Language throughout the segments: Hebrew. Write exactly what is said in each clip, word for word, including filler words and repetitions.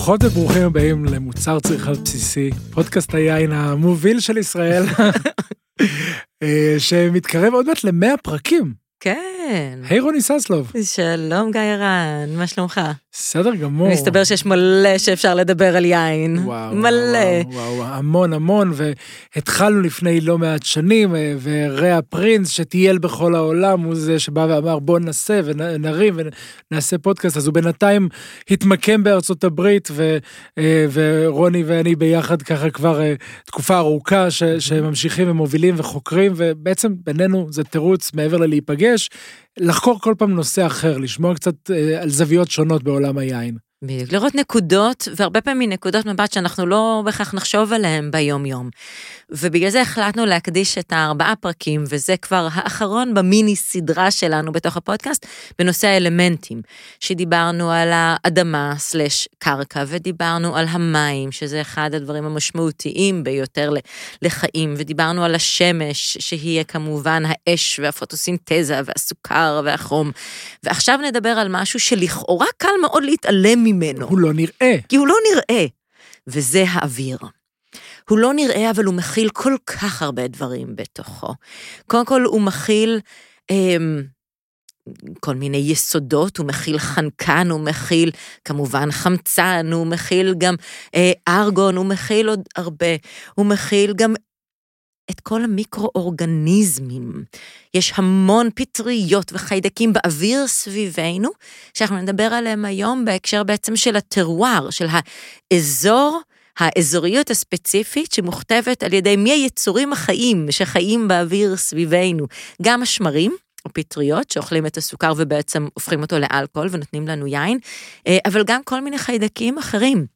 ברוכות וברוכים הבאים למוצר צריכה בסיסי, פודקאסט היין המוביל של ישראל, שמתקרב עוד מעט למאה פרקים. כן. היי רוני ססלוב. שלום גיא רן, מה שלומך? בסדר גמור. מסתבר שיש מלא שאפשר לדבר על יין. וואו, מלא. וואו, וואו, המון המון, והתחלנו לפני לא מעט שנים, ורע פרינס שטייל בכל העולם, הוא זה שבא ואמר בוא ננסה ונרים ונעשה פודקאסט, אז הוא בינתיים התמקם בארצות הברית, ו, ורוני ואני ביחד ככה כבר תקופה ארוכה, ש, שממשיכים ומובילים וחוקרים, ובעצם בינינו זה תירוץ מעבר ללהיפגש, לחקור כל פעם נושא אחר, לשמוע קצת על זוויות שונות בעולם היין. בדיוק, לראות נקודות, והרבה פעמים נקודות מבט שאנחנו לא בכך נחשוב עליהם ביום יום. ובגלל זה החלטנו להקדיש את הארבעה פרקים, וזה כבר האחרון במיני סדרה שלנו בתוך הפודקאסט, בנושא האלמנטים, שדיברנו על האדמה סלש קרקע, ודיברנו על המים, שזה אחד הדברים המשמעותיים ביותר לחיים, ודיברנו על השמש, שהיא כמובן האש והפוטוסינתזה והסוכר והחום, ועכשיו נדבר על משהו שלכאורה קל מאוד להתעלם ממנו. הוא לא נראה. כי הוא לא נראה, וזה האוויר. הוא לא נראה, אבל הוא מכיל כל כך הרבה דברים בתוכו. קודם כל, הוא מכיל אה, כל מיני יסודות, הוא מכיל חנקן, הוא מכיל כמובן חמצן, הוא מכיל גם אה, ארגון, הוא מכיל עוד הרבה, הוא מכיל גם את כל המיקרואורגניזמים. יש המון פטריות וחיידקים באוויר סביבנו, שאנחנו נדבר עליהם היום בהקשר בעצם של הטרואר, של האזור, האזוריות הספציפית שמוכתבת על ידי מי היצורים החיים שחיים באוויר סביבנו. גם השמרים, או פטריות, שאוכלים את הסוכר ובעצם הופכים אותו לאלכוהול ונותנים לנו יין, אבל גם כל מיני חיידקים אחרים.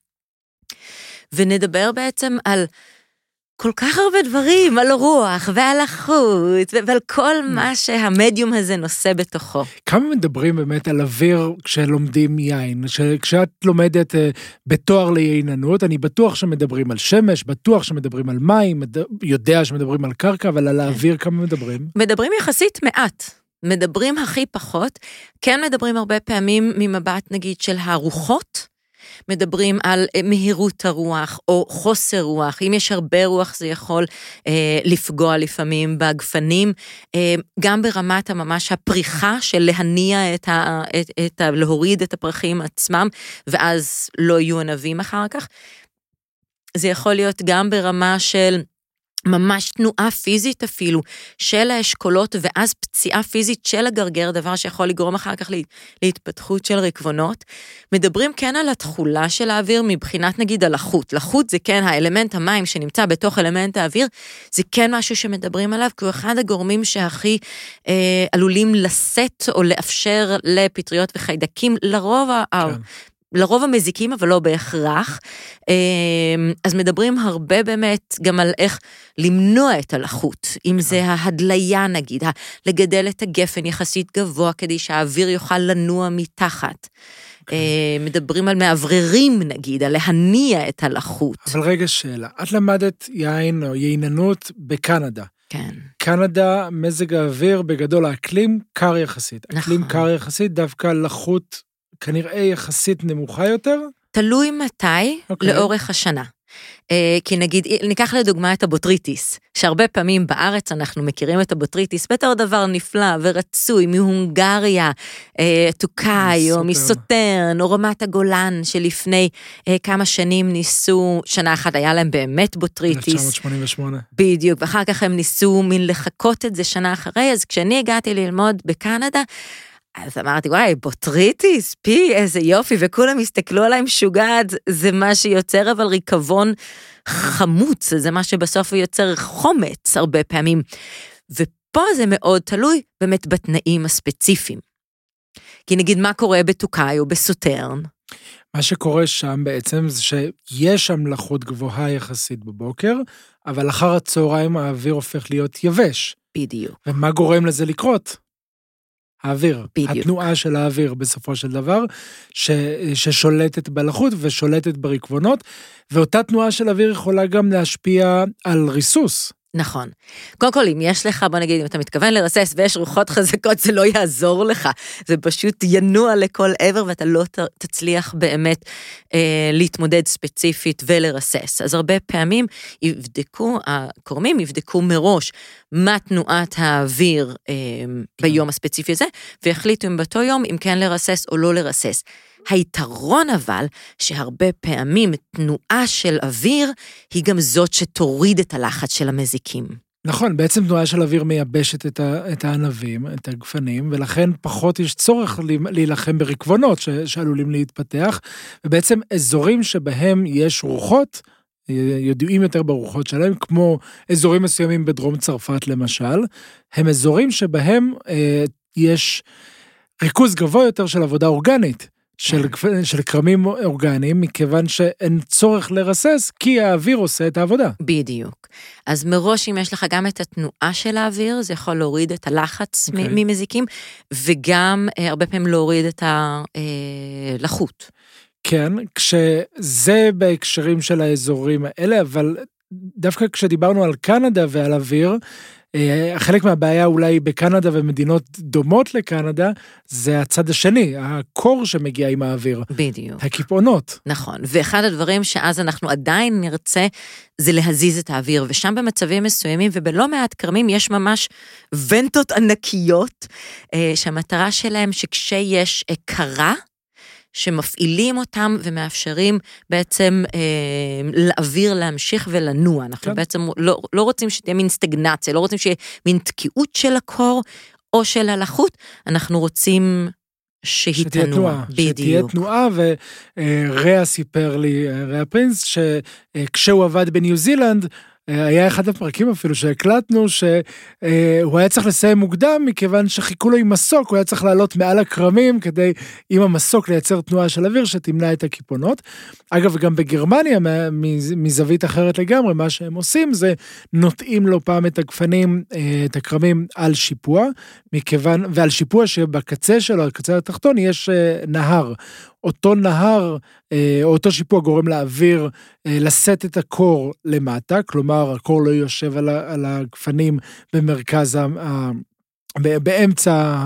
ונדבר בעצם על כל כך הרבה דברים, על רוח ועל החוט, ועל כל מה שהמדיום הזה נושא בתוכו. כמה מדברים באמת על אוויר כשלומדים יין? כשאת לומדת בתואר לייננות, אני בטוח שמדברים על שמש, בטוח שמדברים על מים, יודע שמדברים על קרקע, אבל על האוויר כמה מדברים? מדברים יחסית מעט. מדברים הכי פחות. כן מדברים הרבה פעמים ממבט נגיד של הרוחות, מדברים על מהירות הרוח או חוסר רוח. אם יש הרבה רוח זה יכול אה, לפגוע לפעמים בגפנים, אה, גם ברמת הממש הפריחה של להניע את ה, את, את ה, להוריד את הפרחים עצמם, ואז לא יהיו ענבים אחר כך. זה יכול להיות גם ברמה של ממש תנועה פיזית אפילו, של האשכולות, ואז פציעה פיזית של הגרגר, דבר שיכול לגרום אחר כך להתפתחות של רקבונות. מדברים כן על התחולה של האוויר, מבחינת נגיד על החוט. לחוט זה כן האלמנט המים שנמצא בתוך אלמנט האוויר, זה כן משהו שמדברים עליו, כי הוא אחד הגורמים שהכי אה, עלולים לשאת או לאפשר לפטריות וחיידקים, לרוב כן. לרוב המזיקים, אבל לא בהכרח. אז מדברים הרבה באמת גם על איך למנוע את הלחות, אם זה ההדליה נגיד, לגדל את הגפן יחסית גבוה, כדי שהאוויר יוכל לנוע מתחת. מדברים על מאווררים נגיד, על להניע את הלחות. אבל רגע שאלה, את למדת יין או ייננות בקנדה. כן. קנדה, מזג האוויר, בגדול האקלים קר יחסית. נכון. אקלים קר יחסית, דווקא לחות כנראה יחסית נמוכה יותר? תלוי מתי okay. לאורך השנה. Uh, כי נגיד, ניקח לדוגמה את הבוטריטיס, שהרבה פעמים בארץ אנחנו מכירים את הבוטריטיס, בתור דבר נפלא ורצוי, מהונגריה, uh, טוקאי, או מסוטרן, או רמת הגולן, שלפני uh, כמה שנים ניסו, שנה אחת היה להם באמת בוטריטיס. אלף תשע מאות שמונים ושמונה. בדיוק, ואחר כך הם ניסו מן לחכות את זה שנה אחרי, אז כשאני הגעתי ללמוד בקנדה, אז אמרתי, וואי, בוטריטיס, פי, איזה יופי, וכולם הסתכלו עליי משוגעת, זה מה שיוצר אבל ריקבון חמוץ, זה מה שבסוף יוצר חומץ הרבה פעמים. ופה זה מאוד תלוי באמת בתנאים הספציפיים. כי נגיד מה קורה בטוקאי או בסוטרן? מה שקורה שם בעצם זה שיש שם לחות גבוהה יחסית בבוקר, אבל אחר הצהריים האוויר הופך להיות יבש. בדיוק. ומה גורם לזה לקרות? האוויר, בדיוק. התנועה של האוויר בסופו של דבר, ש, ששולטת בלחות ושולטת ברקבונות, ואותה תנועה של האוויר יכולה גם להשפיע על ריסוס. נכון. קודם כל, אם יש לך, בוא נגיד, אם אתה מתכוון לרסס ויש רוחות חזקות, זה לא יעזור לך. זה פשוט ינוע לכל עבר, ואתה לא תצליח באמת אה, להתמודד ספציפית ולרסס. אז הרבה פעמים יבדקו, הקורמים יבדקו מראש מה תנועת האוויר אה, ביום הספציפי הזה, ויחליטו אם באותו יום, אם כן לרסס או לא לרסס. היתרון אבל, שהרבה פעמים תנועה של אוויר, היא גם זאת שתוריד את הלחץ של המזיקים. נכון, בעצם תנועה של אוויר מייבשת את, ה, את הענבים, את הגפנים, ולכן פחות יש צורך להילחם ברקבונות ש, שעלולים להתפתח, ובעצם אזורים שבהם יש רוחות, ידועים יותר ברוחות שלהם, כמו אזורים מסוימים בדרום צרפת למשל, הם אזורים שבהם אה, יש ריכוז גבוה יותר של עבודה אורגנית, של, של קרמים אורגניים, מכיוון שאין צורך לרסס, כי האוויר עושה את העבודה. בדיוק. אז מראש, אם יש לך גם את התנועה של האוויר, זה יכול להוריד את הלחץ okay. ממזיקים, וגם הרבה פעמים להוריד את הלחות. כן, כשזה בהקשרים של האזורים האלה, אבל דווקא כשדיברנו על קנדה ועל אוויר, חלק מהבעיה אולי בקנדה ומדינות דומות לקנדה, זה הצד השני, הקור שמגיע עם האוויר. בדיוק. הכיפעונות. נכון, ואחד הדברים שאז אנחנו עדיין נרצה, זה להזיז את האוויר, ושם במצבים מסוימים, ובלא מעט קרמים יש ממש ונטות ענקיות, שהמטרה שלהם שכשיש קרה, שמפעילים אותם ומאפשרים בעצם אה, לאוויר להמשיך ולנוע. אנחנו כן. בעצם לא, לא רוצים שתהיה מין סטגנציה, לא רוצים שיהיה מין תקיעות של הקור או של הלחות, אנחנו רוצים שהיא תנוע. בדיוק. שתהיה תנועה, וריה סיפר לי, ריה פרינס, שכשהוא עבד בניו זילנד, היה אחד הפרקים אפילו שהקלטנו, שהוא היה צריך לסיים מוקדם, מכיוון שחיכו לו עם מסוק, הוא היה צריך לעלות מעל הקרמים, כדי עם המסוק לייצר תנועה של אוויר, שתמנע את הכיפונות. אגב, גם בגרמניה, מזווית אחרת לגמרי, מה שהם עושים, זה נוטעים לו פעם את הגפנים, את הקרמים על שיפוע, מכיוון, ועל שיפוע שבקצה שלו, הקצה התחתון, יש נהר. אותו נהר, או אותו שיפוע גורם לאוויר לשאת את הקור למטה, כלומר, הקור לא יושב על הגפנים במרכז, באמצע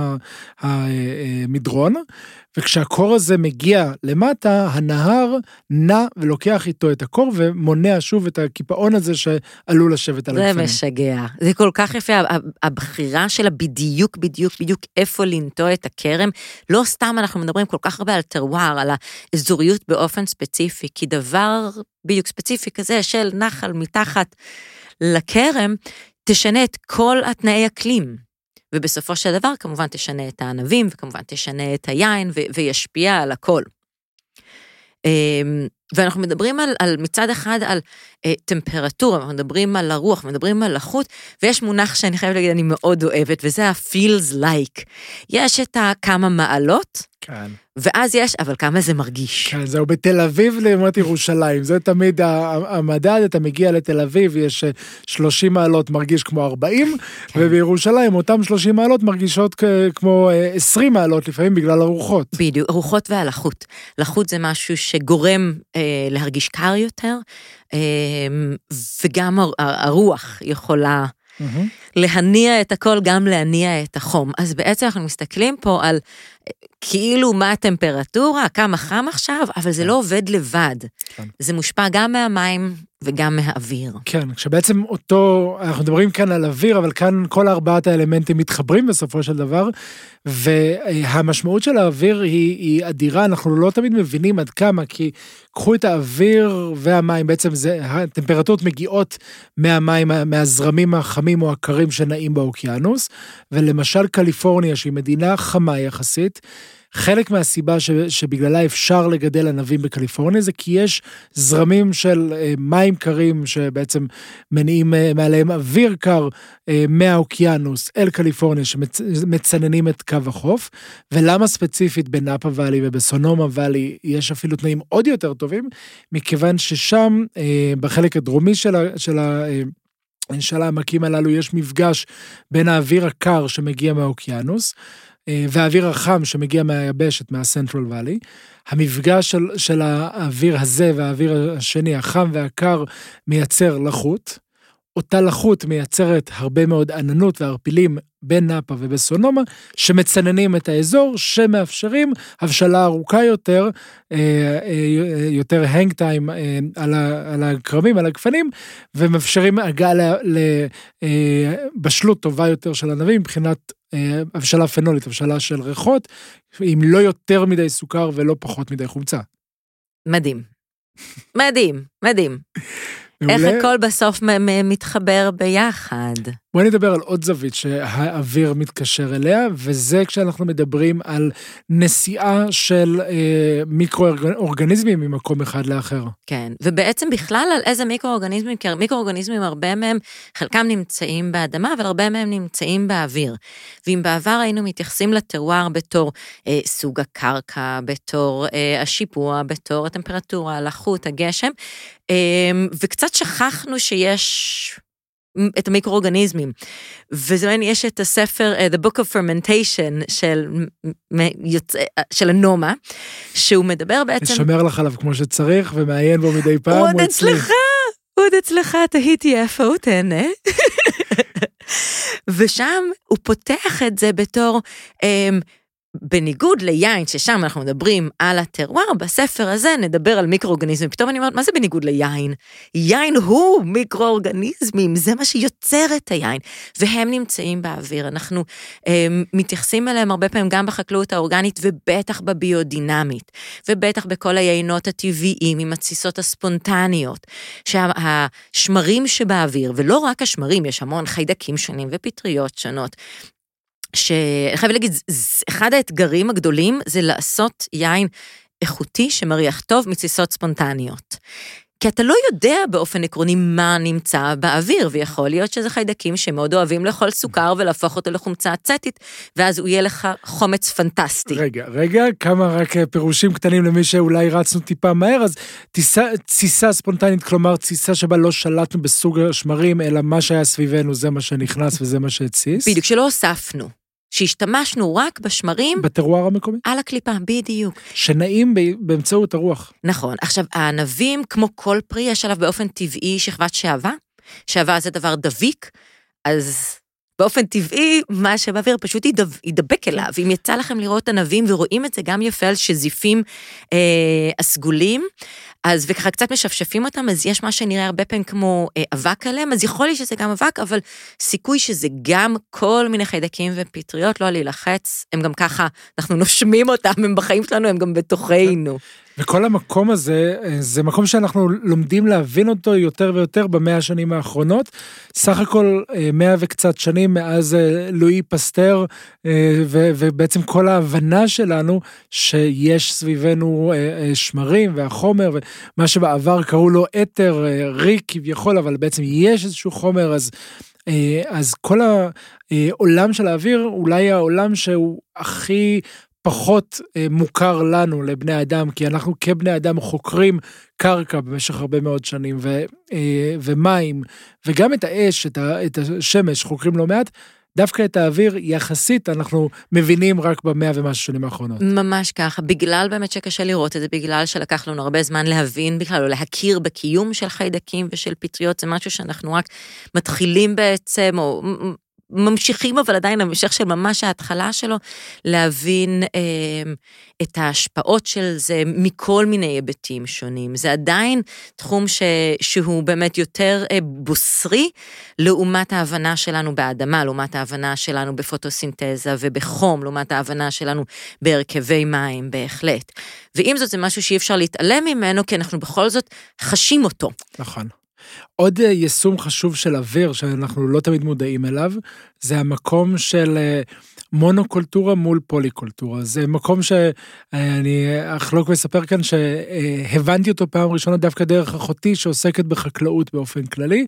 המדרון, וכשהקור הזה מגיע למטה, הנהר נע ולוקח איתו את הקור, ומונע שוב את הקיפאון הזה שעלול לשבת על הגפנים. זה משגע. זה כל כך יפה, הבחירה שלה בדיוק, בדיוק, בדיוק איפה לנטוע את הכרם, לא סתם אנחנו מדברים כל כך הרבה על טרוואר, על האזוריות באופן ספציפי, כי דבר בדיוק ספציפי כזה של נחל מתחת לכרם, תשנה את כל התנאי אקלים. ובסופו של דבר, כמובן, תשנה את הענבים, וכמובן תשנה את היין, ו- וישפיע על הכל. ואנחנו מדברים על, על מצד אחד על אה, טמפרטורה, אנחנו מדברים על הרוח, מדברים על לחות, ויש מונח שאני חייבת להגיד, אני מאוד אוהבת, וזה ה-feels like. יש את כמה מעלות, כן. ואז יש, אבל כמה זה מרגיש. כן, זהו בתל אביב לעומת ירושלים, זה תמיד המדד, אתה מגיע לתל אביב, יש שלושים מעלות מרגיש כמו ארבעים, כן. ובירושלים אותם שלושים מעלות מרגישות כמו עשרים מעלות, לפעמים בגלל הרוחות. בדיוק, הרוחות והלחות. לחות זה משהו שגורם אה, להרגיש קר יותר, אה, וגם הרוח יכולה mm-hmm. להניע את הכל, גם להניע את החום. אז בעצם אנחנו מסתכלים פה על כאילו מה הטמפרטורה, כמה חם עכשיו, אבל זה לא עובד לבד. זה מושפע גם מהמים וגם מהאוויר. כן, כשבעצם אותו, אנחנו מדברים כאן על אוויר, אבל כאן כל ארבעת האלמנטים מתחברים בסופו של דבר, והמשמעות של האוויר היא, היא אדירה, אנחנו לא תמיד מבינים עד כמה, כי קחו את האוויר והמים, בעצם זה, הטמפרטורות מגיעות מהמים, מהזרמים החמים או הקרים שנעים באוקיינוס, ולמשל קליפורניה, שהיא מדינה חמה יחסית, חלק מהסיבה ש, שבגללה אפשר לגדל ענבים בקליפורניה, זה כי יש זרמים של מים קרים, שבעצם מניעים מעליהם אוויר קר מהאוקיינוס אל קליפורניה, שמצננים את קו החוף, ולמה ספציפית בנאפה ואלי ובסונומה ואלי, יש אפילו תנאים עוד יותר טובים, מכיוון ששם, בחלק הדרומי של ה... של ה של העמקים הללו יש מפגש בין האוויר הקר שמגיע מהאוקיינוס, והאוויר החם שמגיע מהיבשת, מהסנטרל ואלי, המפגש של, של האוויר הזה והאוויר השני, החם והקר, מייצר לחות, אותה לחות מייצרת הרבה מאוד עננות וערפילים בין נאפה ובסונומה, שמצננים את האזור, שמאפשרים הבשלה ארוכה יותר, יותר הנג טיים על הקרמים, על הגפנים, ומאפשרים הגעה לבשלות טובה יותר של ענבים, מבחינת הבשלה פנולית, הבשלה של ריחות, עם לא יותר מדי סוכר ולא פחות מדי חומצה. מדהים. מדהים, מדהים. איך הכל בסוף מתחבר ביחד. בואי נדבר על עוד זווית שהאוויר מתקשר אליה, וזה כשאנחנו מדברים על נסיעה של אה, מיקרו-אורגניזמים ממקום אחד לאחר. כן, ובעצם בכלל על איזה מיקרו-אורגניזמים, כי מיקרו-אורגניזמים הרבה מהם, חלקם נמצאים באדמה, אבל הרבה מהם נמצאים באוויר. ואם בעבר היינו מתייחסים לטרואר בתור אה, סוג הקרקע, בתור אה, השיפוע, בתור הטמפרטורה, הלחות, הגשם, אה, וקצת שכחנו שיש את המיקרואורגניזמים, וזה מעניין, יש את הספר, uh, The Book of Fermentation, של, יוצא, של הנומה, שהוא מדבר בעצם... לשמר לך עליו כמו שצריך, ומעיין בו מדי פעם, הוא עוד אצלך, הוא עוד אצלך, תהיתי איפה הוא תהנה. ושם הוא פותח את זה בתור... Um, בניגוד ליין, ששם אנחנו מדברים על הטרואר, בספר הזה נדבר על מיקרואורגניזמים. פתאום אני אומרת, מה זה בניגוד ליין? יין הוא מיקרואורגניזמים, זה מה שיוצר את היין, והם נמצאים באוויר. אנחנו אה, מתייחסים אליהם הרבה פעמים גם בחקלאות האורגנית, ובטח בביודינמית, ובטח בכל היינות הטבעיים, עם התסיסות הספונטניות, שהשמרים שבאוויר, ולא רק השמרים, יש המון חיידקים שונים ופטריות שונות, שאני חייב להגיד, אחד האתגרים הגדולים זה לעשות יין איכותי שמריח טוב מתסיסות ספונטניות. כי אתה לא יודע באופן עקרוני מה נמצא באוויר, ויכול להיות שזה חיידקים שמאוד אוהבים לאכול סוכר ולהפוך אותו לחומצה אצטית, ואז הוא יהיה לך חומץ פנטסטי. רגע, רגע, כמה רק פירושים קטנים למי שאולי רצנו טיפה מהר, אז תסיסה, תסיסה ספונטנית, כלומר תסיסה שבה לא שלטנו בסוג השמרים, אלא מה שהיה סביבנו זה מה שנכנס וזה מה שהציס. בדיוק, שלא הוספנו. שהשתמשנו רק בשמרים... בטרואר המקומי? על הקליפה, בדיוק. שנעים באמצעות הרוח. נכון. עכשיו, הענבים, כמו כל פרי, יש עליו באופן טבעי שכבת שעבה. שעבה זה דבר דביק, אז באופן טבעי, מה שבאוויר פשוט ידבק אליו. אם יצא לכם לראות ענבים, ורואים את זה גם יפה על שזיפים אה, הסגולים, אז וככה קצת משפשפים אותם, אז יש מה שנראה הרבה פעמים כמו אה, אבק עליהם, אז יכול להיות שזה גם אבק, אבל סיכוי שזה גם כל מיני חיידקים ופטריות, לא להילחץ, הם גם ככה, אנחנו נושמים אותם, הם בחיים שלנו, הם גם בתוכנו. וכל המקום הזה, זה מקום שאנחנו לומדים להבין אותו יותר ויותר במאה השנים האחרונות, סך הכל מאה וקצת שנים מאז לואי פסטר, ובעצם כל ההבנה שלנו שיש סביבנו שמרים והחומר, ומה שבעבר קראו לו אתר, ריק כביכול, אבל בעצם יש איזשהו חומר, אז... אז כל העולם של האוויר, אולי העולם שהוא הכי פחות מוכר לנו, לבני האדם, כי אנחנו כבני אדם חוקרים קרקע במשך הרבה מאוד שנים, ו, ומים, וגם את האש, את השמש, חוקרים לא מעט, דווקא את האוויר יחסית אנחנו מבינים רק במאה ומשהו שנים האחרונות. ממש ככה, בגלל באמת שקשה לראות את זה, בגלל שלקח לנו הרבה זמן להבין בכלל, או להכיר בקיום של חיידקים ושל פטריות, זה משהו שאנחנו רק מתחילים בעצם, או ממשיכים, אבל עדיין המשך של ממש ההתחלה שלו, להבין אה, את ההשפעות של זה מכל מיני היבטים שונים. זה עדיין תחום ש, שהוא באמת יותר אה, בוסרי, לעומת ההבנה שלנו באדמה, לעומת ההבנה שלנו בפוטוסינתזה ובחום, לעומת ההבנה שלנו בהרכבי מים, בהחלט. ועם זאת זה משהו שאי אפשר להתעלם ממנו, כי אנחנו בכל זאת חשים אותו. נכון. עוד יישום חשוב של אוויר, שאנחנו לא תמיד מודעים אליו, זה המקום של מונוקולטורה מול פוליקולטורה. זה מקום שאני אחלוק ואספר כאן, שהבנתי אותו פעם ראשונה דווקא דרך אחותי, שעוסקת בחקלאות באופן כללי,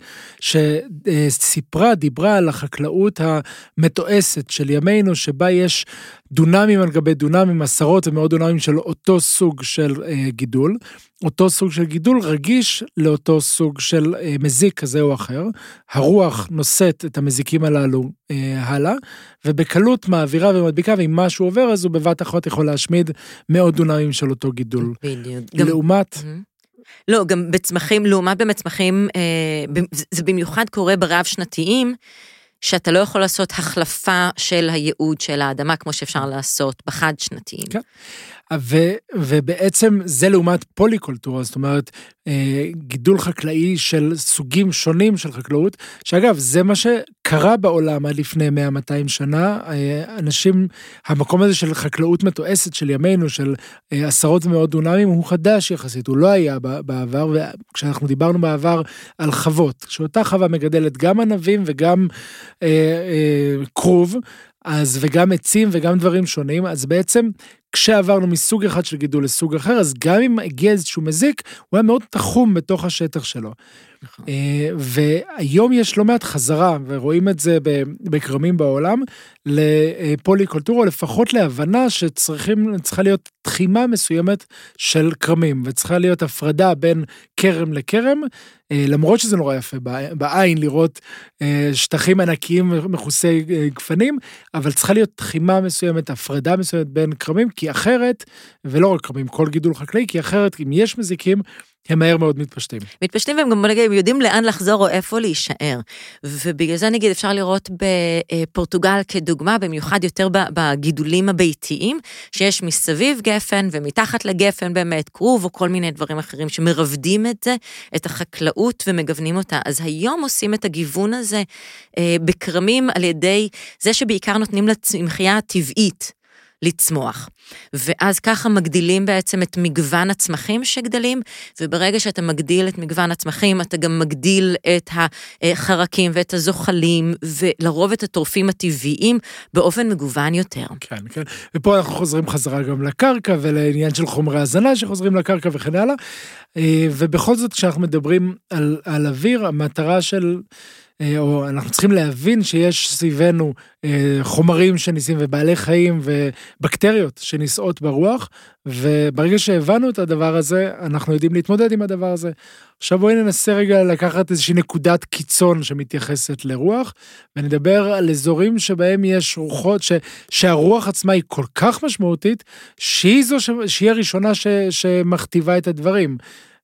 שסיפרה, דיברה על החקלאות המתועסת של ימינו, שבה יש דונמים על גבי דונמים, עשרות ומאות דונמים של אותו סוג של גידול, אותו סוג של גידול רגיש לאותו סוג של מזיק כזה או אחר, הרוח נושאת את המזיקים הללו הלאה, ובקלות מעבירה ומדביקה, ואם משהו עובר, אז הוא בבת אחת יכול להשמיד מאות דונמים של אותו גידול. בדיוק. לעומת... לא, גם בצמחים, לעומת במצמחים, זה במיוחד קורה ברב שנתיים, שאתה לא יכול לעשות החלפה של הייעוד של האדמה, כמו שאפשר לעשות בחד שנתיים. כן. ו, ובעצם זה לעומת פוליקולטורה, זאת אומרת, גידול חקלאי של סוגים שונים של חקלאות, שאגב, זה מה שקרה בעולם עד לפני מאה מאתיים שנה, אנשים, המקום הזה של חקלאות מתועסת של ימינו, של עשרות ומאות דונמים, הוא חדש יחסית, הוא לא היה בעבר, וכשאנחנו דיברנו בעבר על חוות, שאותה חווה מגדלת גם ענבים וגם אה, אה, קרוב, אז וגם עצים וגם דברים שונים, אז בעצם כשעברנו מסוג אחד של גידול לסוג אחר, אז גם אם הגיע איזשהו מזיק, הוא היה מאוד תחום בתוך השטח שלו. והיום יש לא מעט חזרה, ורואים את זה בקרמים בעולם, לפוליקולטורה, לפחות להבנה שצריכים, צריכה להיות תחימה מסוימת של קרמים, וצריכה להיות הפרדה בין קרם לקרם, למרות שזה נורא יפה בעין לראות שטחים ענקיים מכוסי גפנים, אבל צריכה להיות תחימה מסוימת, הפרדה מסוימת בין קרמים, כי אחרת, ולא רק קרמים, כל גידול חקלאי, כי אחרת אם יש מזיקים, הם מהר מאוד מתפשטים. מתפשטים והם גם נגיד, יודעים לאן לחזור או איפה להישאר. ובגלל זה נגיד אפשר לראות בפורטוגל כדוגמה, במיוחד יותר בגידולים הביתיים, שיש מסביב גפן ומתחת לגפן באמת קרוב או כל מיני דברים אחרים שמרבדים את זה, את החקלאות ומגוונים אותה. אז היום עושים את הגיוון הזה בקרמים על ידי זה שבעיקר נותנים לצמחייה הטבעית לצמוח. ואז ככה מגדילים בעצם את מגוון הצמחים שגדלים, וברגע שאתה מגדיל את מגוון הצמחים, אתה גם מגדיל את החרקים ואת הזוחלים, ולרוב את הטורפים הטבעיים באופן מגוון יותר. כן, כן. ופה אנחנו חוזרים חזרה גם לקרקע, ולעניין של חומרי הזנה שחוזרים לקרקע וכן הלאה. ובכל זאת, כשאנחנו מדברים על, על אוויר, המטרה של או אנחנו צריכים להבין שיש סביבנו חומרים שניסים ובעלי חיים ובקטריות שניסעות ברוח, וברגע שהבנו את הדבר הזה, אנחנו יודעים להתמודד עם הדבר הזה. עכשיו בואי ננסה רגע לקחת איזושהי נקודת קיצון שמתייחסת לרוח, ונדבר על אזורים שבהם יש רוחות, ש, שהרוח עצמה היא כל כך משמעותית, שהיא זו ש, שהיא הראשונה ש, שמכתיבה את הדברים.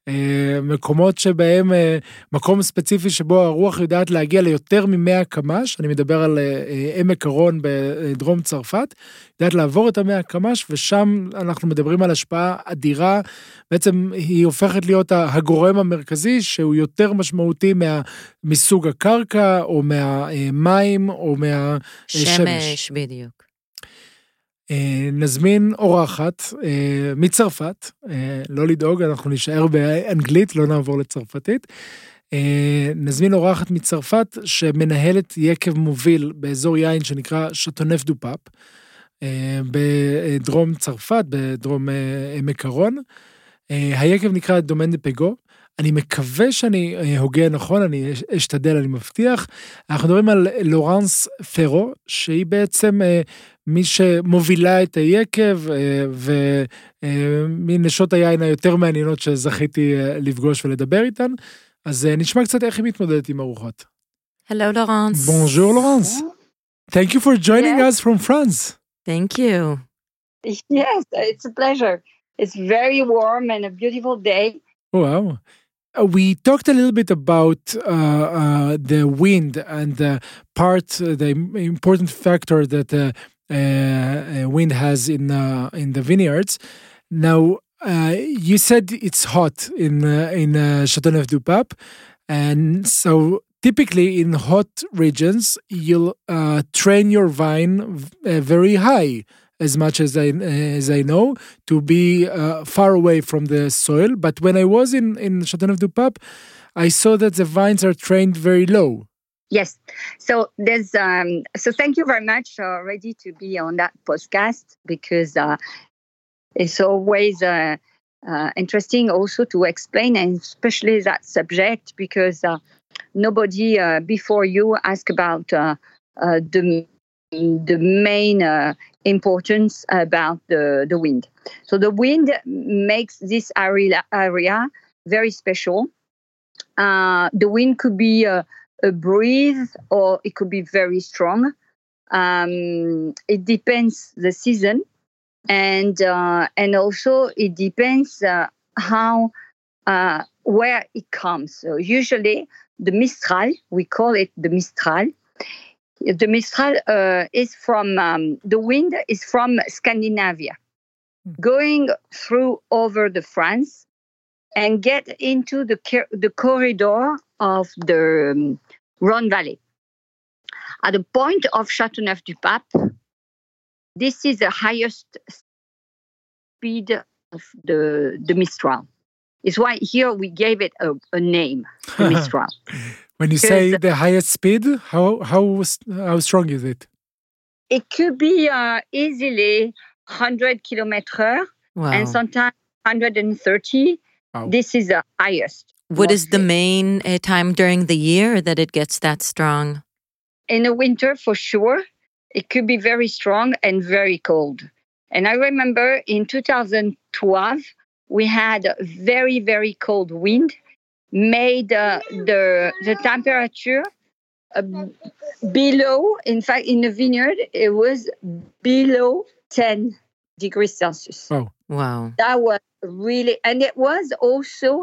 מקומות שבהם, מקום ספציפי שבו הרוח יודעת להגיע ליותר ממאה קמ"ש, אני מדבר על עמק הרון בדרום צרפת, יודעת לעבור את המאה קמ"ש, ושם אנחנו מדברים על השפעה אדירה, בעצם היא הופכת להיות הגורם המרכזי, שהוא יותר משמעותי מה, מסוג הקרקע, או מהמים, או מהשמש. שמש, בדיוק. נזמין אורחת מצרפת, לא לדאוג, אנחנו נשאר באנגלית, לא נעבור לצרפתית. נזמין אורחת מצרפת שמנהלת יקב מוביל באזור יין שנקרא שטונף דו פאפ, בדרום צרפת, בדרום עמק הרון. היקב נקרא דומיין דה פגו. אני מקווה שאני הוגה נכון, אני אשתדל, אני מבטיח. אנחנו מדברים על לורנס פרו, שהיא בעצם מי שמובילה את היקב, ומנשות היין היותר מעניינות שזכיתי לפגוש ולדבר איתן. אז נשמע קצת איך היא מתמודדת עם ארוחות. Hello, Laurence. Bonjour, Laurence. Thank you for joining yes. us from France. Thank you. Yes, it's a pleasure. It's very warm and a beautiful day. Wow. Uh, we talked a little bit about uh, uh, the wind and the part, uh, the important factor that uh, uh, wind has in uh, in the vineyards. Now, uh, you said it's hot in uh, in uh, Châteauneuf du Pape, and so typically in hot regions you'll uh, train your vine uh, very high. As much as I as I know, to be uh, far away from the soil. But when I was in in Châteauneuf du Pape, I saw that the vines are trained very low. Yes. So there's um. So thank you very much already to be on that podcast because uh, it's always uh, uh, interesting also to explain, and especially that subject because uh, nobody uh, before you asked about uh, uh, the the main. Uh, importance about the, the wind. So the wind makes this area, area very special. Uh, the wind could be a, a breeze or it could be very strong. Um, it depends the season and uh, and also it depends uh, how uh, where it comes. So usually the Mistral, we call it the Mistral. The Mistral uh, is from, um, the wind is from Scandinavia, going through over the France and get into the, the corridor of the um, Rhone Valley. At the point of Châteauneuf-du-Pape, this is the highest speed of the, the Mistral. It's why here we gave it a, a name, the Mistral. When you say the highest speed, how how how strong is it? It could be uh, easily one hundred kilometers Wow. and sometimes one hundred thirty. Wow. This is the highest. What is the mostly. main uh, time during the year that it gets that strong? In the winter, for sure, it could be very strong and very cold. And I remember in two thousand twelve, we had a very, very cold wind, made uh, the, the temperature uh, below, in fact, in the vineyard, it was below ten degrees Celsius. Oh. Wow. That was really, and it was also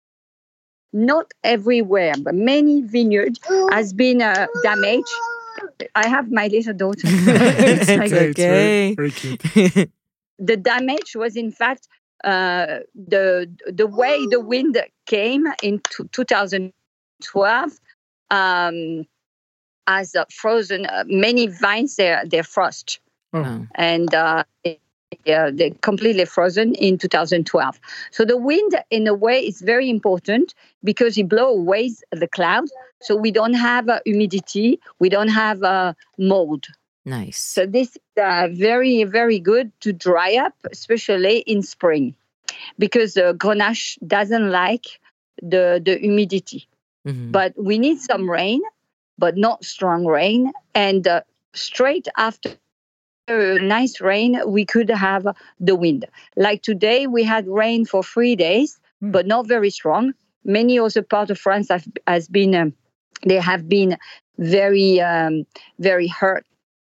not everywhere, but many vineyards has been uh, damaged. I have my little daughter. It's It's okay. It's very, okay. very cute. The damage was, in fact, uh, the the way the wind came in t- two thousand twelve um, has uh, frozen uh, many vines. They're they're frost, Wow. and uh, yeah, they're completely frozen in two thousand twelve. So the wind, in a way, is very important because it blows away the cloud. So we don't have uh, humidity, we don't have uh, mold. Nice. So this is uh, very, very good to dry up, especially in spring, because uh, Grenache doesn't like the, the humidity. Mhm. But we need some rain, but not strong rain. And uh, straight after a nice rain, we could have the wind. Like today, we had rain for three days, Mm. but not very strong. Many other parts of France have has been um, they have been very um, very hurt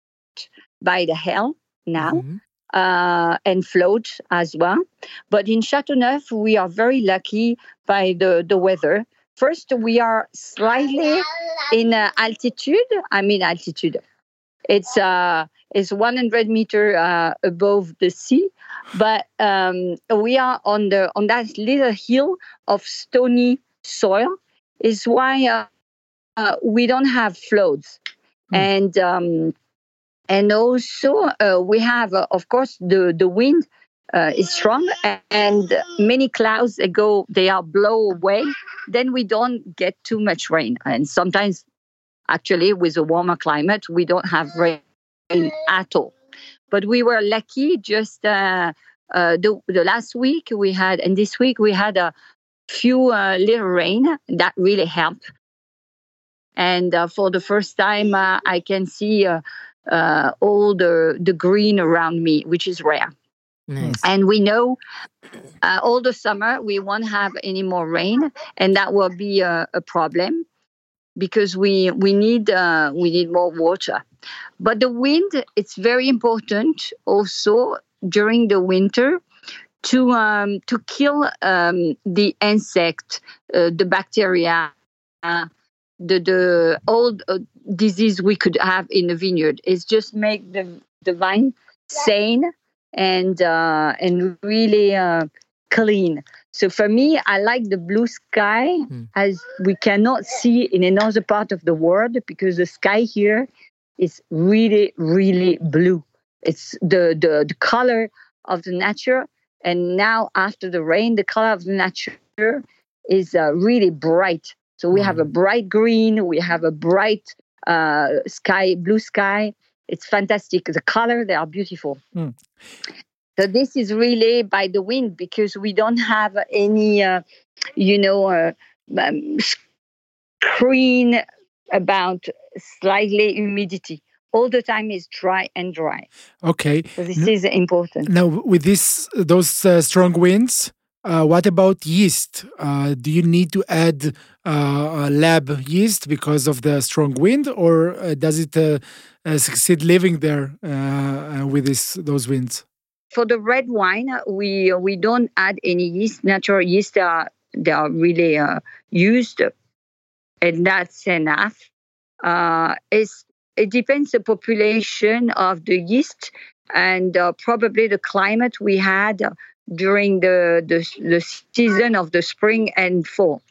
by the hail now. Mhm. Uh, and float as well. But in Châteauneuf, we are very lucky by the, the weather. First, we are slightly in uh, altitude. I mean altitude. It's uh, it's one hundred meter uh, above the sea, but um, we are on the on that little hill of stony soil. Is why uh, uh, we don't have floods, Hmm. and um, and also uh, we have, uh, of course, the the wind uh, is strong, and many clouds they go they are blow away. Then we don't get too much rain, and sometimes. Actually, with a warmer climate, we don't have rain at all. But we were lucky just uh, uh, the, the last week we had, and this week we had a few uh, little rain that really helped. And uh, for the first time, uh, I can see uh, uh, all the, the green around me, which is rare. Nice. And we know uh, all the summer we won't have any more rain, and that will be a, a problem. Because we we need uh, we need more water, but the wind it's very important also during the winter to um, to kill um, the insect, uh, the bacteria, uh, the the old uh, disease we could have in the vineyard. It's just make the the vine sane and uh, and really uh, clean. So for me, I like the blue sky Mm. as we cannot see in another part of the world because the sky here is really, really blue. It's the, the, the color of the nature. And now after the rain, the color of the nature is uh, really bright. So we Mm. have a bright green, we have a bright uh, sky, blue sky. It's fantastic. The color, they are beautiful. Mm. So this is really by the wind because we don't have any, uh, you know, uh, um, screen about slightly humidity. All the time is dry and dry. Okay. So this is important. Now, with this, those uh, strong winds, uh, what about yeast? Uh, do you need to add uh, a lab yeast because of the strong wind, or uh, does it uh, uh, succeed living there uh, uh, with this those winds? For the red wine, we we don't add any yeast. Natural yeast are they are really uh, used, and that's enough. Uh, it's, it depends the population of the yeast and uh, probably the climate we had during the, the, the season of the spring and fall.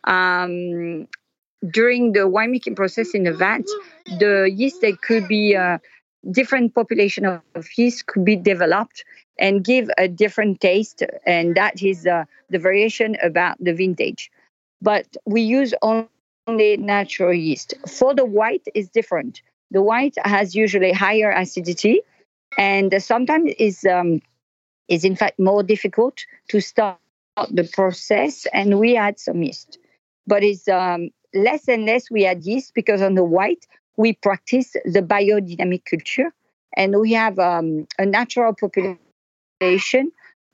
Um, during the winemaking process in the vat, the yeast, they could be uh, different population of yeast could be developed and give a different taste, and that is uh, the variation about the vintage. But we use only natural yeast. For the white, it's different. The white has usually higher acidity, and sometimes is um, is in fact more difficult to start the process, and we add some yeast. But it's um, less and less we add yeast because on the white, we practice the biodynamic culture, and we have um, a natural population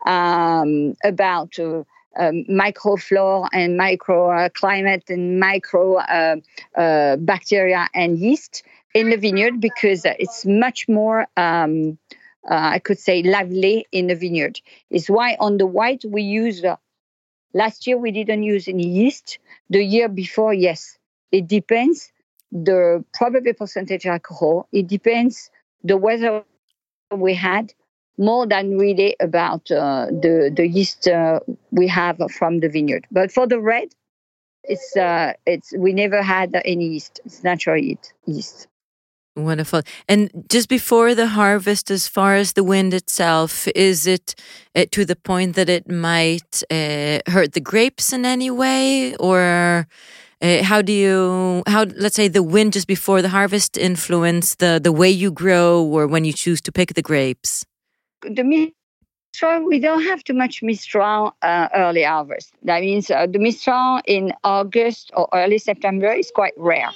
um, about uh, um, microflora and microclimate and micro uh, uh, bacteria and yeast in the vineyard, because it's much more, um, uh, I could say, lively in the vineyard. It's why on the white we use, uh, last year we didn't use any yeast. The year before, yes. It depends the probable percentage alcohol. It depends the weather we had, more than really about uh, the, the yeast uh, we have from the vineyard. But for the red, it's uh, it's we never had any yeast. It's natural yeast. Wonderful. And just before the harvest, as far as the wind itself, is it uh, to the point that it might uh, hurt the grapes in any way? Or uh, how do you, how let's say the wind just before the harvest influence the, the way you grow or when you choose to pick the grapes? The Mistral, we don't have too much Mistral uh, early harvest. That means uh, the Mistral in August or early September is quite rare.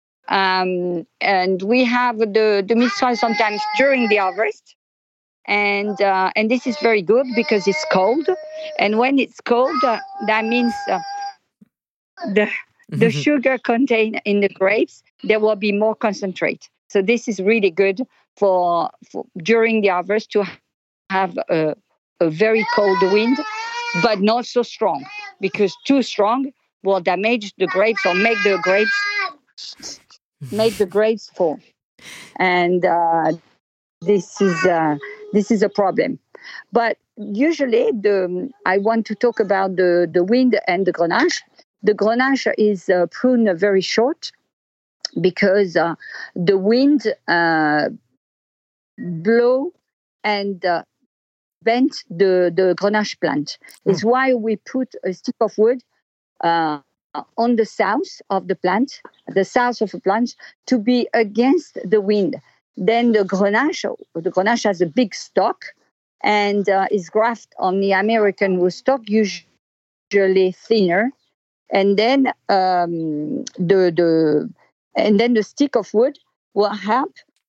Um, and we have the, the Mistral sometimes during the harvest. And uh, and this is very good because it's cold. And when it's cold, uh, that means uh, the, the sugar contained in the grapes, there will be more concentrate. So this is really good for, for during the harvest to have a, a very cold wind, but not so strong, because too strong will damage the grapes or make the grapes make the grapes fall, and uh, this is uh, this is a problem. But usually, the I want to talk about the the wind and the Grenache. The Grenache is uh, pruned very short because uh, the wind uh, blow and uh, bent the, the Grenache plant. Mm. It's why we put a stick of wood uh, on the south of the plant, the south of the plant, to be against the wind. Then the Grenache, the Grenache has a big stalk and uh, is grafted on the American rootstock, usually thinner. And then um, the the and then the stick of wood will help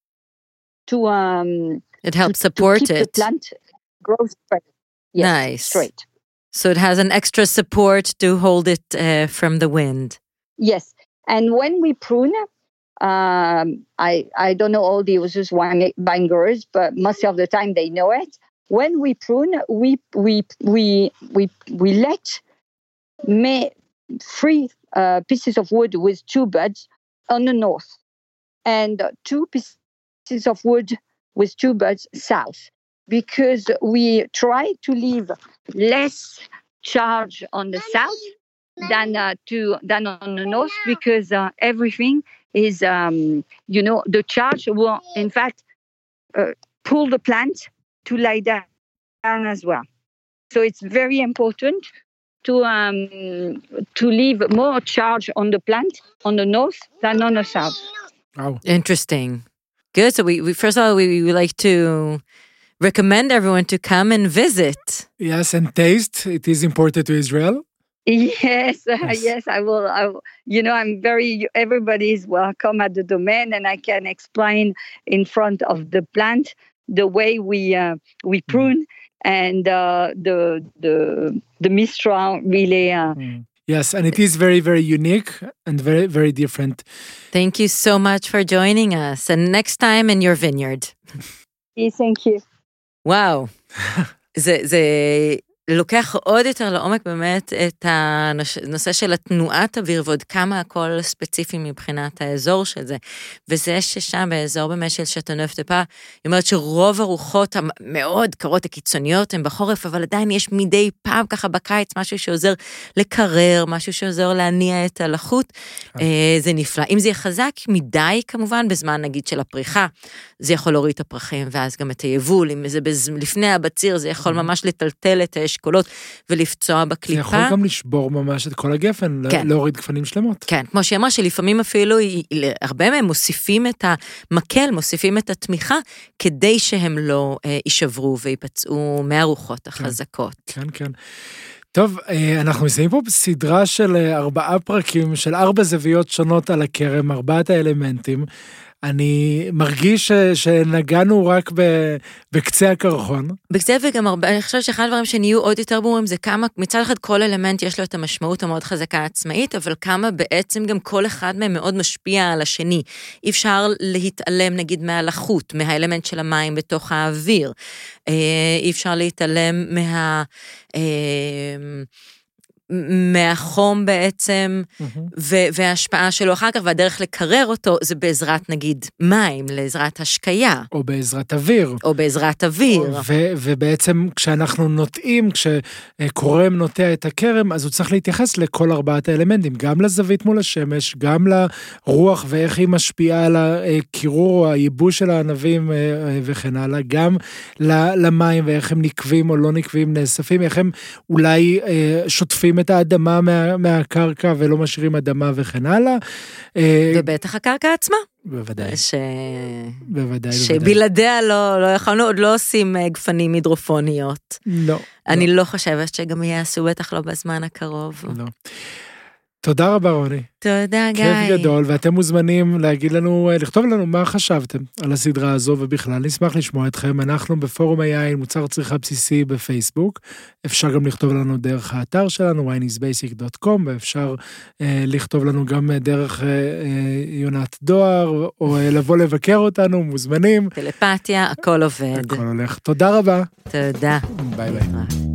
to um. It helps to, support to keep it. The plant grows straight. Yes, nice. Straight. So it has an extra support to hold it uh, from the wind. Yes. And when we prune, um, I I don't know all the users winegrowers, but most of the time they know it. When we prune, we we we we we let may, three uh, pieces of wood with two buds on the north, and two pieces of wood with two buds south, because we try to leave less charge on the south than uh, to than on the north, because uh, everything is um, you know the charge will in fact uh, pull the plant to lie down as well. So it's very important to um, to leave more charge on the plant on the north than on the south. Oh, interesting. Good. So we, we first of all we, we would like to recommend everyone to come and visit. Yes, and taste. It is imported to Israel. Yes, uh, yes. yes, I will. I will. You know, I'm very. Everybody is welcome at the domain, and I can explain in front of the plant the way we uh, we prune mm. and uh, the the the Mistral really. Uh, mm. Yes, and it is very, very unique and very, very different. Thank you so much for joining us. And next time in your vineyard. Thank you. וואו, זה, זה לוקח עוד יותר לעומק באמת את הנושא של התנועת אוויר, ועוד כמה הכל ספציפי מבחינת האזור של זה, וזה ששם באזור באמת של שטנוף-דה-פא, היא אומרת שרוב הרוחות המאוד קרות הקיצוניות הן בחורף, אבל עדיין יש מדי פעם ככה בקיץ, משהו שעוזר לקרר, משהו שעוזר להניע את הלחות, זה נפלא. אם זה יהיה חזק מדי כמובן, בזמן נגיד של הפריחה, זה יכול להוריד את הפרחים, ואז גם את היבול, אם זה לפני הבציר, זה יכול ממש לטלטל את האשכולות, ולפצוע בקליפה. זה יכול גם לשבור ממש את כל הגפן, כן. להוריד גפנים שלמות. כן, כמו שאמרה, שלפעמים אפילו, הרבה מהם מוסיפים את המקל, מוסיפים את התמיכה, כדי שהם לא אה, יישברו ויפצעו מהרוחות החזקות. כן, כן. טוב, אנחנו מסיימים פה בסדרה של ארבעה פרקים, של ארבע זוויות שונות על הכרם, ארבעת האלמנטים. אני מרגיש שנגענו רק בקצה הקרחון. בקצה וגם הרבה, אני חושבת שאחד הדברים שנהיו עוד יותר ברורים, זה כמה, מצד אחד כל אלמנט יש לו את המשמעות המאוד חזקה עצמאית, אבל כמה בעצם גם כל אחד מהם מאוד משפיע על השני. אי אפשר להתעלם נגיד מהלחות, מהאלמנט של המים בתוך האוויר. אי אפשר להתעלם מה... מהחום בעצם, וההשפעה שלו אחר כך, והדרך לקרר אותו, זה בעזרת נגיד מים, לעזרת השקיה. או בעזרת אוויר. או בעזרת אוויר. ובעצם כשאנחנו נוטעים, כשקורם נוטע את הכרם, אז הוא צריך להתייחס לכל ארבעת האלמנטים, גם לזווית מול השמש, גם לרוח ואיך היא משפיעה על הקירור, הייבוש של הענבים וכן הלאה, גם למים ואיך הם נקבים או לא נקבים, נאספים, איך הם אולי שוטפים את האדמה מה, מהקרקע ולא משאירים אדמה וכן הלאה. ובטח הקרקע עצמה. בוודאי. ש... בוודאי, שבלעדיה לא, לא יכולנו, עוד לא עושים גפנים הידרופוניות. לא. אני לא, לא חושבת שגם יעשו, בטח לא בזמן הקרוב. לא. תודה רבה רוני. תודה גיא. כיף גדול, ואתם מוזמנים להגיד לנו, לכתוב לנו מה חשבתם על הסדרה הזו, ובכלל נשמח לשמוע אתכם. אנחנו בפורום היין, מוצר צריכה בסיסי בפייסבוק, אפשר גם לכתוב לנו דרך האתר שלנו, וויין איז בייסיק דוט קום, ואפשר אה, לכתוב לנו גם דרך אה, יונת דואר, או אה, לבוא לבקר אותנו, מוזמנים. טלפתיה, הכל עובד. הכל הולך. תודה רבה. תודה. ביי ביי.